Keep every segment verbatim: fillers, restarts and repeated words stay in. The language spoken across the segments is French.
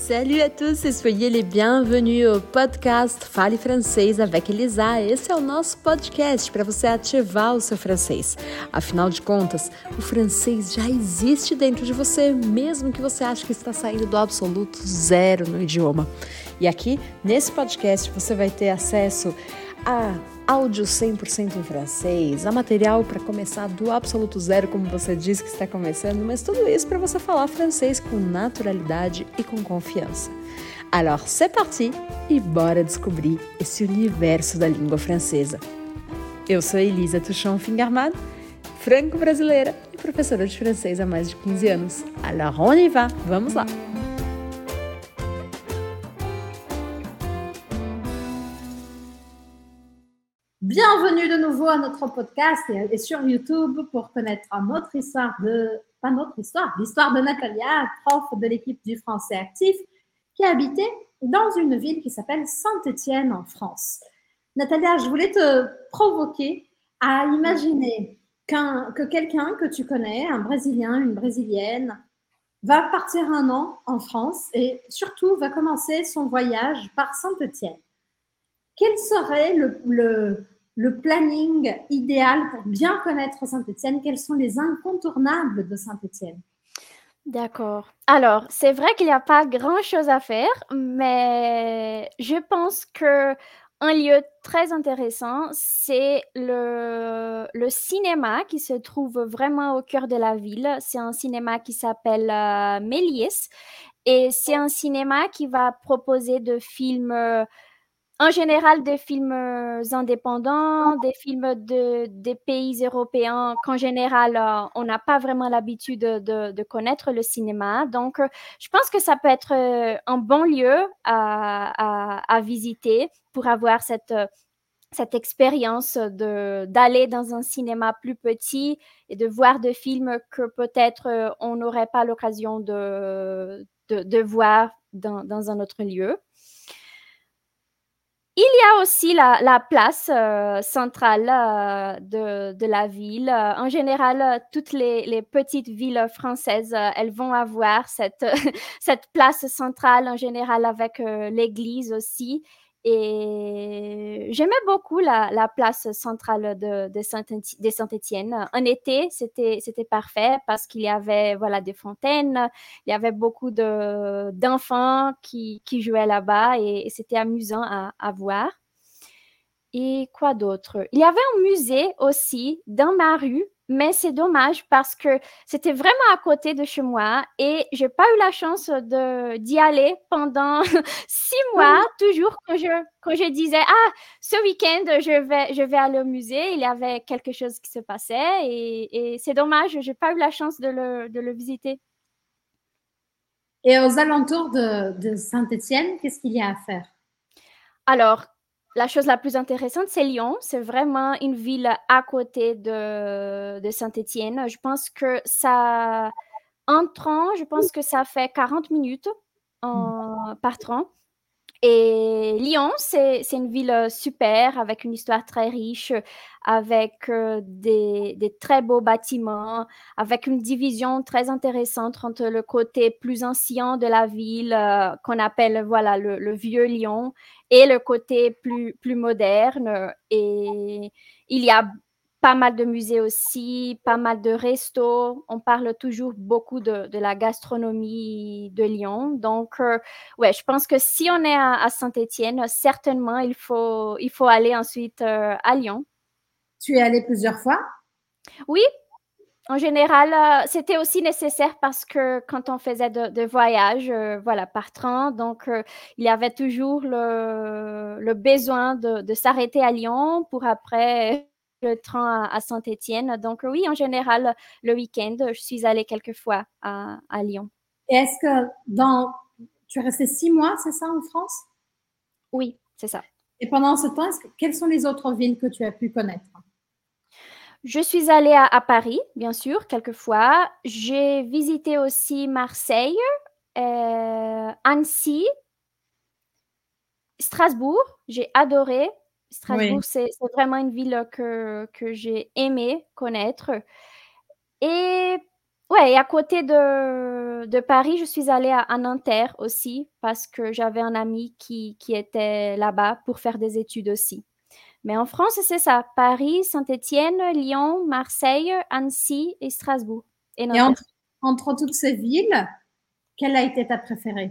Salut à tous e soyez les bienvenus ao podcast Fale Francês avec Elisa. Esse é o nosso podcast para você ativar o seu francês. Afinal de contas, o francês já existe dentro de você, mesmo que você ache que está saindo do absoluto zero no idioma. E aqui, nesse podcast, você vai ter acesso a áudio cem por cento em francês, a material para começar do absoluto zero, como você disse que está começando, mas tudo isso para você falar francês com naturalidade e com confiança. Alors, c'est parti e bora descobrir esse universo da língua francesa. Eu sou Elisa Tuchon-Fingerman, franco-brasileira e professora de francês há mais de quinze anos. Alors, on y va! Vamos lá! Bienvenue de nouveau à notre podcast et, et sur YouTube pour connaître notre histoire de, pas notre histoire, l'histoire de Natalia, prof de l'équipe du français actif, qui habitait dans une ville qui s'appelle Saint-Étienne en France. Natalia, je voulais te provoquer à imaginer qu'un, que quelqu'un que tu connais, un Brésilien, une Brésilienne, va partir un an en France et surtout va commencer son voyage par Saint-Étienne. Quel serait le, le, le planning idéal pour bien connaître Saint-Étienne? Quels sont les incontournables de Saint-Étienne? D'accord. Alors, c'est vrai qu'il n'y a pas grand-chose à faire, mais je pense que un lieu très intéressant, c'est le, le cinéma qui se trouve vraiment au cœur de la ville. C'est un cinéma qui s'appelle euh, Méliès et c'est un cinéma qui va proposer de films... euh, En général, des films euh, indépendants, des films de, des pays européens qu'en général, euh, on n'a pas vraiment l'habitude de, de, de connaître le cinéma. Donc, euh, je pense que ça peut être euh, un bon lieu à, à, à visiter pour avoir cette, euh, cette expérience de, d'aller dans un cinéma plus petit et de voir des films que peut-être euh, on n'aurait pas l'occasion de, de, de voir dans, dans un autre lieu. Il y a aussi la, la place euh, centrale euh, de, de la ville. Euh, en général, euh, toutes les, les petites villes françaises, euh, elles vont avoir cette, cette place centrale, en général avec euh, l'église aussi. Et j'aimais beaucoup la, la place centrale de, de, Saint, de Saint-Étienne. En été, c'était, c'était parfait parce qu'il y avait voilà, des fontaines, il y avait beaucoup de, d'enfants qui, qui jouaient là-bas et, et c'était amusant à, à voir. Et quoi d'autre? Il y avait un musée aussi dans ma rue, mais c'est dommage parce que c'était vraiment à côté de chez moi et j'ai pas eu la chance de, d'y aller pendant six mois, toujours quand je, quand je disais, ah, ce week-end, je vais, je vais aller au musée, il y avait quelque chose qui se passait et, et c'est dommage, j'ai pas eu la chance de le, de le visiter. Et aux alentours de, de Saint-Étienne, qu'est-ce qu'il y a à faire? Alors, la chose la plus intéressante, c'est Lyon. C'est vraiment une ville à côté de, de Saint-Étienne. Je pense que ça, en train, je pense que ça fait quarante minutes en, par train. Et Lyon, c'est, c'est une ville super, avec une histoire très riche, avec euh, des, des très beaux bâtiments, avec une division très intéressante entre le côté plus ancien de la ville, euh, qu'on appelle voilà, le, le vieux Lyon, et le côté plus, plus moderne. Et il y a pas mal de musées aussi, pas mal de restos. On parle toujours beaucoup de, de la gastronomie de Lyon. Donc, euh, ouais, je pense que si on est à, à Saint-Étienne, certainement, il faut, il faut aller ensuite euh, à Lyon. Tu es allée plusieurs fois? Oui, en général, euh, c'était aussi nécessaire parce que quand on faisait de, de voyages, euh, voilà, par train, donc euh, il y avait toujours le, le besoin de, de s'arrêter à Lyon pour après le train à, à Saint-Étienne. Donc oui, en général, le week-end, je suis allée quelques fois à, à Lyon. Et est-ce que dans... Tu es restée six mois, c'est ça, en France? Oui, c'est ça. Et pendant ce temps, est-ce que... quelles sont les autres villes que tu as pu connaître? Je suis allée à, à Paris, bien sûr, quelques fois. J'ai visité aussi Marseille, euh, Annecy, Strasbourg. J'ai adoré. Strasbourg, Oui. c'est, c'est vraiment une ville que, que j'ai aimé connaître. Et Ouais, et à côté de, de Paris, je suis allée à, à Nanterre aussi parce que j'avais un ami qui, qui était là-bas pour faire des études aussi. Mais en France, c'est ça, Paris, Saint-Étienne, Lyon, Marseille, Annecy et Strasbourg et Et entre, Nanterre. entre toutes ces villes, quelle a été ta préférée?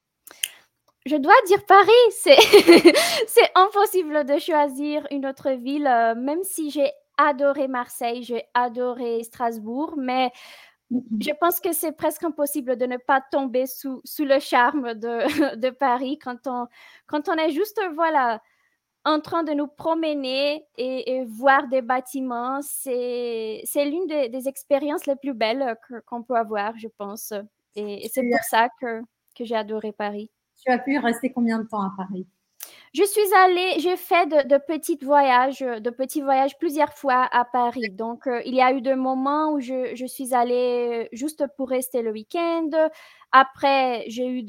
Je dois dire Paris, c'est c'est impossible de choisir une autre ville, euh, même si j'ai adoré Marseille, j'ai adoré Strasbourg, mais je pense que c'est presque impossible de ne pas tomber sous, sous le charme de, de Paris quand on, quand on est juste, voilà, en train de nous promener et, et voir des bâtiments. C'est, c'est l'une des, des expériences les plus belles que, qu'on peut avoir, je pense. Et, et c'est Tu pour as, ça que, que j'ai adoré Paris. tu as pu rester combien de temps à Paris? Je suis allée, j'ai fait de, de petits voyages, de petits voyages plusieurs fois à Paris. Donc, euh, il y a eu des moments où je, je suis allée juste pour rester le week-end. Après, j'ai eu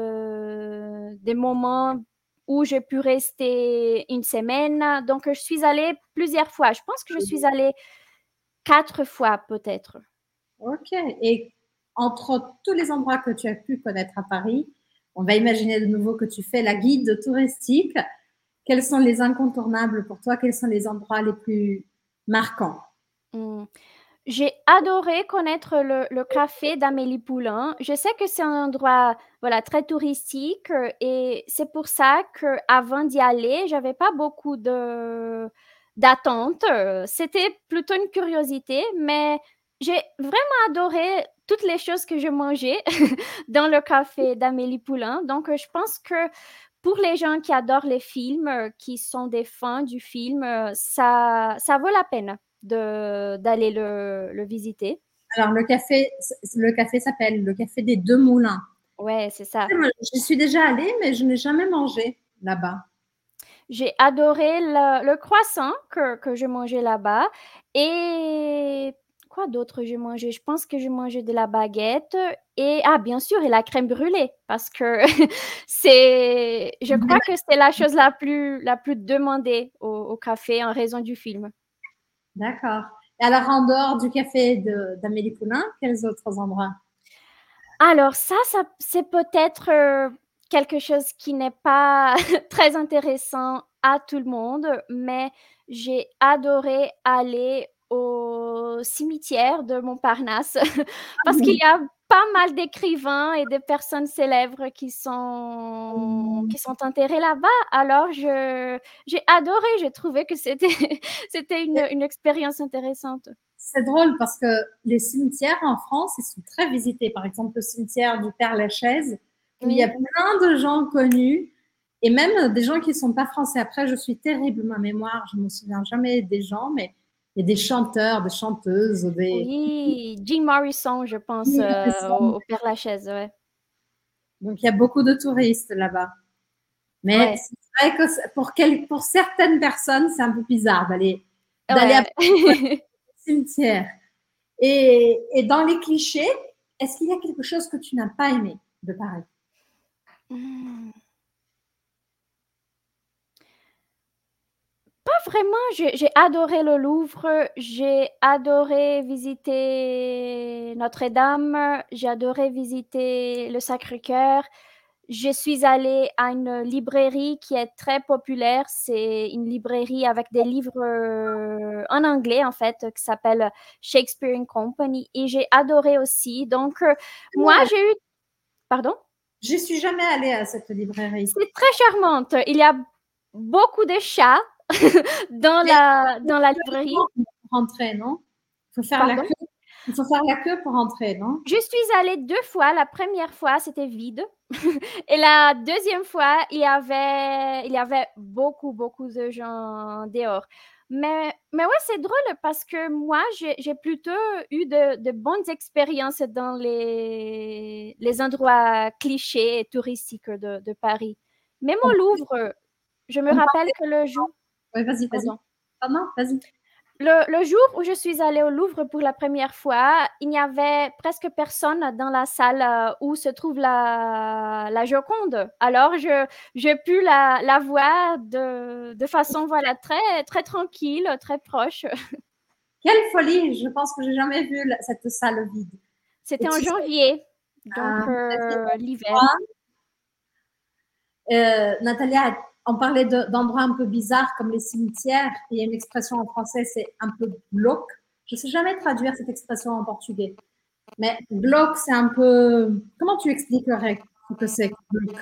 de, des moments où j'ai pu rester une semaine. Donc, je suis allée plusieurs fois. Je pense que je suis allée quatre fois peut-être. Ok. Et entre tous les endroits que tu as pu connaître à Paris, on va imaginer de nouveau que tu fais la guide touristique. Quels sont les incontournables pour toi? Quels sont les endroits les plus marquants? Hmm. J'ai adoré connaître le, le café d'Amélie Poulain. Je sais que c'est un endroit, voilà, très touristique euh, et c'est pour ça qu'avant d'y aller, j'avais pas beaucoup de d'attente. Euh, C'était plutôt une curiosité, mais j'ai vraiment adoré toutes les choses que je mangeais dans le café d'Amélie Poulain. Donc, euh, je pense que pour les gens qui adorent les films, euh, qui sont des fans du film, euh, ça, ça vaut la peine de, d'aller le, le visiter. Alors, le café, le café s'appelle le café des Deux Moulins. Ouais, c'est ça. J'y suis déjà allée, mais je n'ai jamais mangé là-bas. J'ai adoré le, le croissant que, que je mangeais là-bas. Et quoi d'autre j'ai mangé? Je pense que j'ai mangé de la baguette et, ah, bien sûr, et la crème brûlée parce que c'est, je crois que c'est la chose la plus, la plus demandée au, au café en raison du film. D'accord. Et alors, en dehors du café de, d'Amélie Poulain, quels autres endroits? Alors ça, ça c'est peut-être euh, quelque chose qui n'est pas très intéressant à tout le monde, mais j'ai adoré aller au cimetière de Montparnasse parce qu'il y a pas mal d'écrivains et de personnes célèbres qui sont, qui sont enterrés là-bas. Alors, je, j'ai adoré, j'ai trouvé que c'était, c'était une, une expérience intéressante. C'est drôle parce que les cimetières en France, ils sont très visités. Par exemple, le cimetière du Père-Lachaise, où il y a Oui. plein de gens connus et même des gens qui ne sont pas français. Après, je suis terrible, ma mémoire, je ne me souviens jamais des gens, mais il y a des chanteurs, des chanteuses, des... Oui, Jim Morrison, je pense, euh, au, au Père-Lachaise, ouais. Donc, il y a beaucoup de touristes là-bas. Mais Ouais. c'est vrai que pour, quel, pour certaines personnes, c'est un peu bizarre d'aller, d'aller Ouais. à cimetière. Et, et dans les clichés, est-ce qu'il y a quelque chose que tu n'as pas aimé de Paris? Hmm. Pas vraiment, j'ai, j'ai adoré le Louvre, j'ai adoré visiter Notre-Dame, j'ai adoré visiter le Sacré-Cœur. Je suis allée à une librairie qui est très populaire. C'est une librairie avec des livres euh, en anglais, en fait, qui s'appelle Shakespeare and Company. Et j'ai adoré aussi. Donc, euh, moi, Ouais. j'ai eu... Pardon? Je suis jamais allée à cette librairie. C'est très charmante. Il y a beaucoup de chats dans la, dans la librairie. Pour rentrer, non? Il faut faire Pardon? la queue. Il faut faire la queue pour rentrer, non? Je suis allée deux fois. La première fois, c'était vide. Et la deuxième fois, il y avait, il y avait beaucoup, beaucoup de gens dehors. Mais, mais ouais, c'est drôle parce que moi, j'ai, j'ai plutôt eu de, de bonnes expériences dans les, les endroits clichés et touristiques de, de Paris. Même au Louvre, je me rappelle que le jour... Oui, vas-y, vas-y. Pardon. Pardon, vas-y. Le, le jour où je suis allée au Louvre pour la première fois, il n'y avait presque personne dans la salle euh, où se trouve la, la Joconde. Alors, je, j'ai pu la, la voir de, de façon voilà, très, très tranquille, très proche. Quelle folie! Je pense que j'ai jamais vu la- cette salle vide. C'était Et en tu sais, janvier, donc euh, euh, l'hiver. euh, Natalia, on parlait de- d'endroits un peu bizarres comme les cimetières. Il y a une expression en français, c'est un peu glauque. Je ne sais jamais traduire cette expression en portugais. Mais glauque, c'est un peu. Comment tu expliquerais ce que c'est glauque?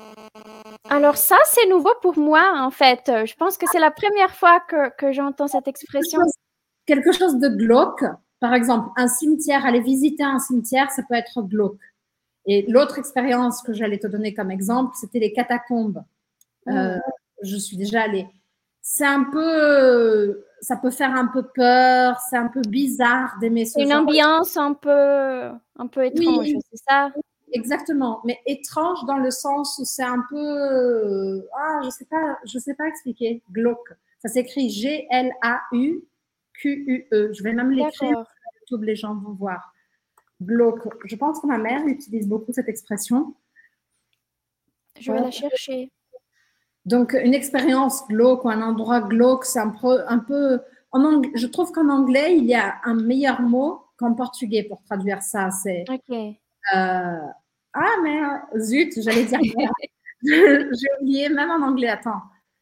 Alors ça, c'est nouveau pour moi, en fait. Je pense que c'est la première fois que, que j'entends cette Quelque expression. chose, quelque chose de glauque. Par exemple, un cimetière, aller visiter un cimetière, ça peut être glauque. Et l'autre expérience que j'allais te donner comme exemple, c'était les catacombes. Euh, Mm. je suis déjà allée. C'est un peu, ça peut faire un peu peur, c'est un peu bizarre d'aimer ce C'est une genre. ambiance un peu, un peu étrange, Oui, c'est ça? exactement. Mais étrange dans le sens où c'est un peu, ah, je sais pas, je sais pas expliquer. Glauque. Ça s'écrit G L A U Q U E. Je vais même l'écrire D'accord. sur YouTube, les gens vont voir. Glauque. Je pense que ma mère utilise beaucoup cette expression. Je vais la chercher. Donc, une expérience glauque ou un endroit glauque, c'est un peu, un peu en anglais, je trouve qu'en anglais, il y a un meilleur mot qu'en portugais pour traduire ça. C'est Ok. euh, ah mais zut, j'allais dire j'ai oublié même en anglais. Attends,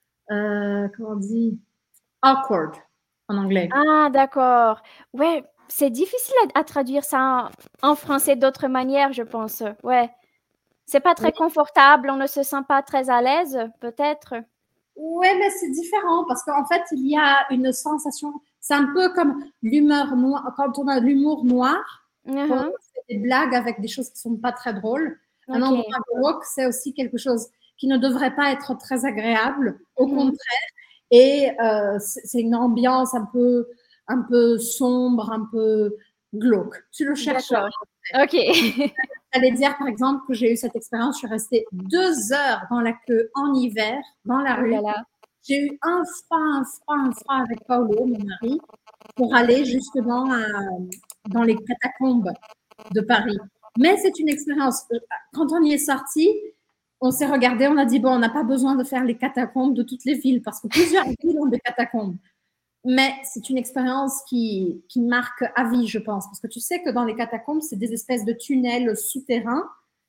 euh, comment on dit awkward en anglais. Ah, d'accord. Ouais, c'est difficile à, à traduire ça en, en français d'autres manières, je pense. Ouais. C'est pas très Oui. confortable, on ne se sent pas très à l'aise, peut-être. Ouais, mais c'est différent parce qu'en fait, il y a une sensation. C'est un peu comme l'humeur noire. Quand on a l'humour noir, quand on Mhm. fait des blagues avec des choses qui sont pas très drôles, un Ok. endroit glauque, c'est aussi quelque chose qui ne devrait pas être très agréable. Au Mhm. contraire, et euh, c'est c'est une ambiance un peu, un peu sombre, un peu glauque. Tu le chercheras. D'accord. Ok. J'allais dire, par exemple, que j'ai eu cette expérience. Je suis restée deux heures dans la queue en hiver, dans la Oh là rue. là. J'ai eu un froid, un froid, un froid avec Paolo, mon mari, pour aller justement à- dans les catacombes de Paris. Mais c'est une expérience. Quand on y est sorti, on s'est regardé, on a dit, bon, on n'a pas besoin de faire les catacombes de toutes les villes, parce que plusieurs villes ont des catacombes. Mais c'est une expérience qui, qui marque à vie, je pense. Parce que tu sais que dans les catacombes, c'est des espèces de tunnels souterrains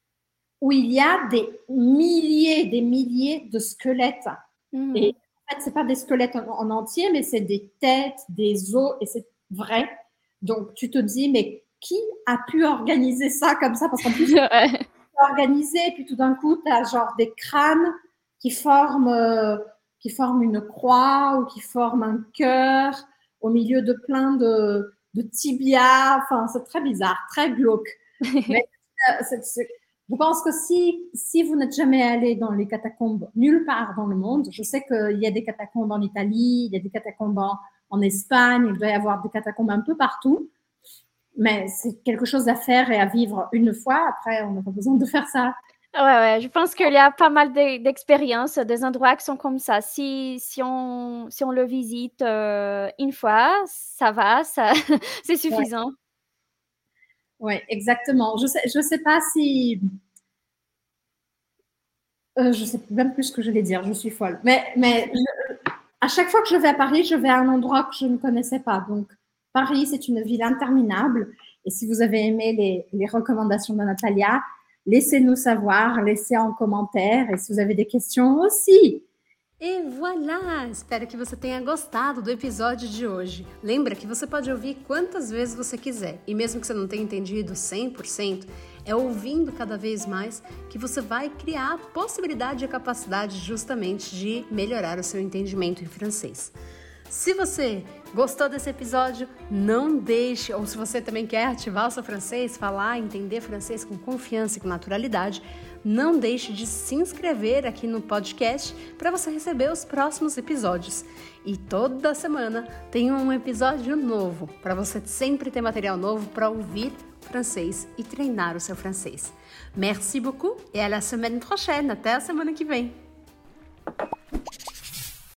où il y a des milliers, des milliers de squelettes. Mhm. Et en fait, ce n'est pas des squelettes en, en entier, mais c'est des têtes, des os, et c'est vrai. Donc, tu te dis, mais qui a pu organiser ça comme ça? Parce qu'en plus, Ouais. c'est organisé, et puis tout d'un coup, tu as genre des crânes qui forment, euh, qui forment une croix ou qui forment un cœur au milieu de plein de, de tibias. Enfin, c'est très bizarre, très glauque. Mais euh, c'est- c'est- je pense que si, si vous n'êtes jamais allé dans les catacombes nulle part dans le monde, je sais qu'il y a des catacombes en Italie, il y a des catacombes en, en Espagne, il doit y avoir des catacombes un peu partout, mais c'est quelque chose à faire et à vivre une fois. Après, on n'a pas besoin de faire ça. Ouais, ouais, je pense qu'il y a pas mal de- d'expériences, des endroits qui sont comme ça. Si, si on, si on le visite euh, une fois, ça va, ça, c'est Ouais, suffisant. ouais, exactement. Je sais, je sais pas si, euh, je sais même plus ce que je vais dire. Je suis folle. Mais, mais je- à chaque fois que je vais à Paris, je vais à un endroit que je ne connaissais pas. Donc, Paris, c'est une ville interminable. Et si vous avez aimé les, les recommandations de Natalia, laissez-nous savoir, laissez en commentaire. Et si vous avez des questions aussi. E voilà! Espero que você tenha gostado do episódio de hoje. Lembra que você pode ouvir quantas vezes você quiser, e mesmo que você não tenha entendido cem por cento, é ouvindo cada vez mais que você vai criar a possibilidade e a capacidade justamente de melhorar o seu entendimento em francês. Se você gostou desse episódio, não deixe, ou se você também quer ativar o seu francês, falar, entender francês com confiança e com naturalidade, não deixe de se inscrever aqui no podcast para você receber os próximos episódios. E toda semana tem um episódio novo, para você sempre ter material novo para ouvir francês e treinar o seu francês. Merci beaucoup et à la semaine prochaine. Até a semana que vem.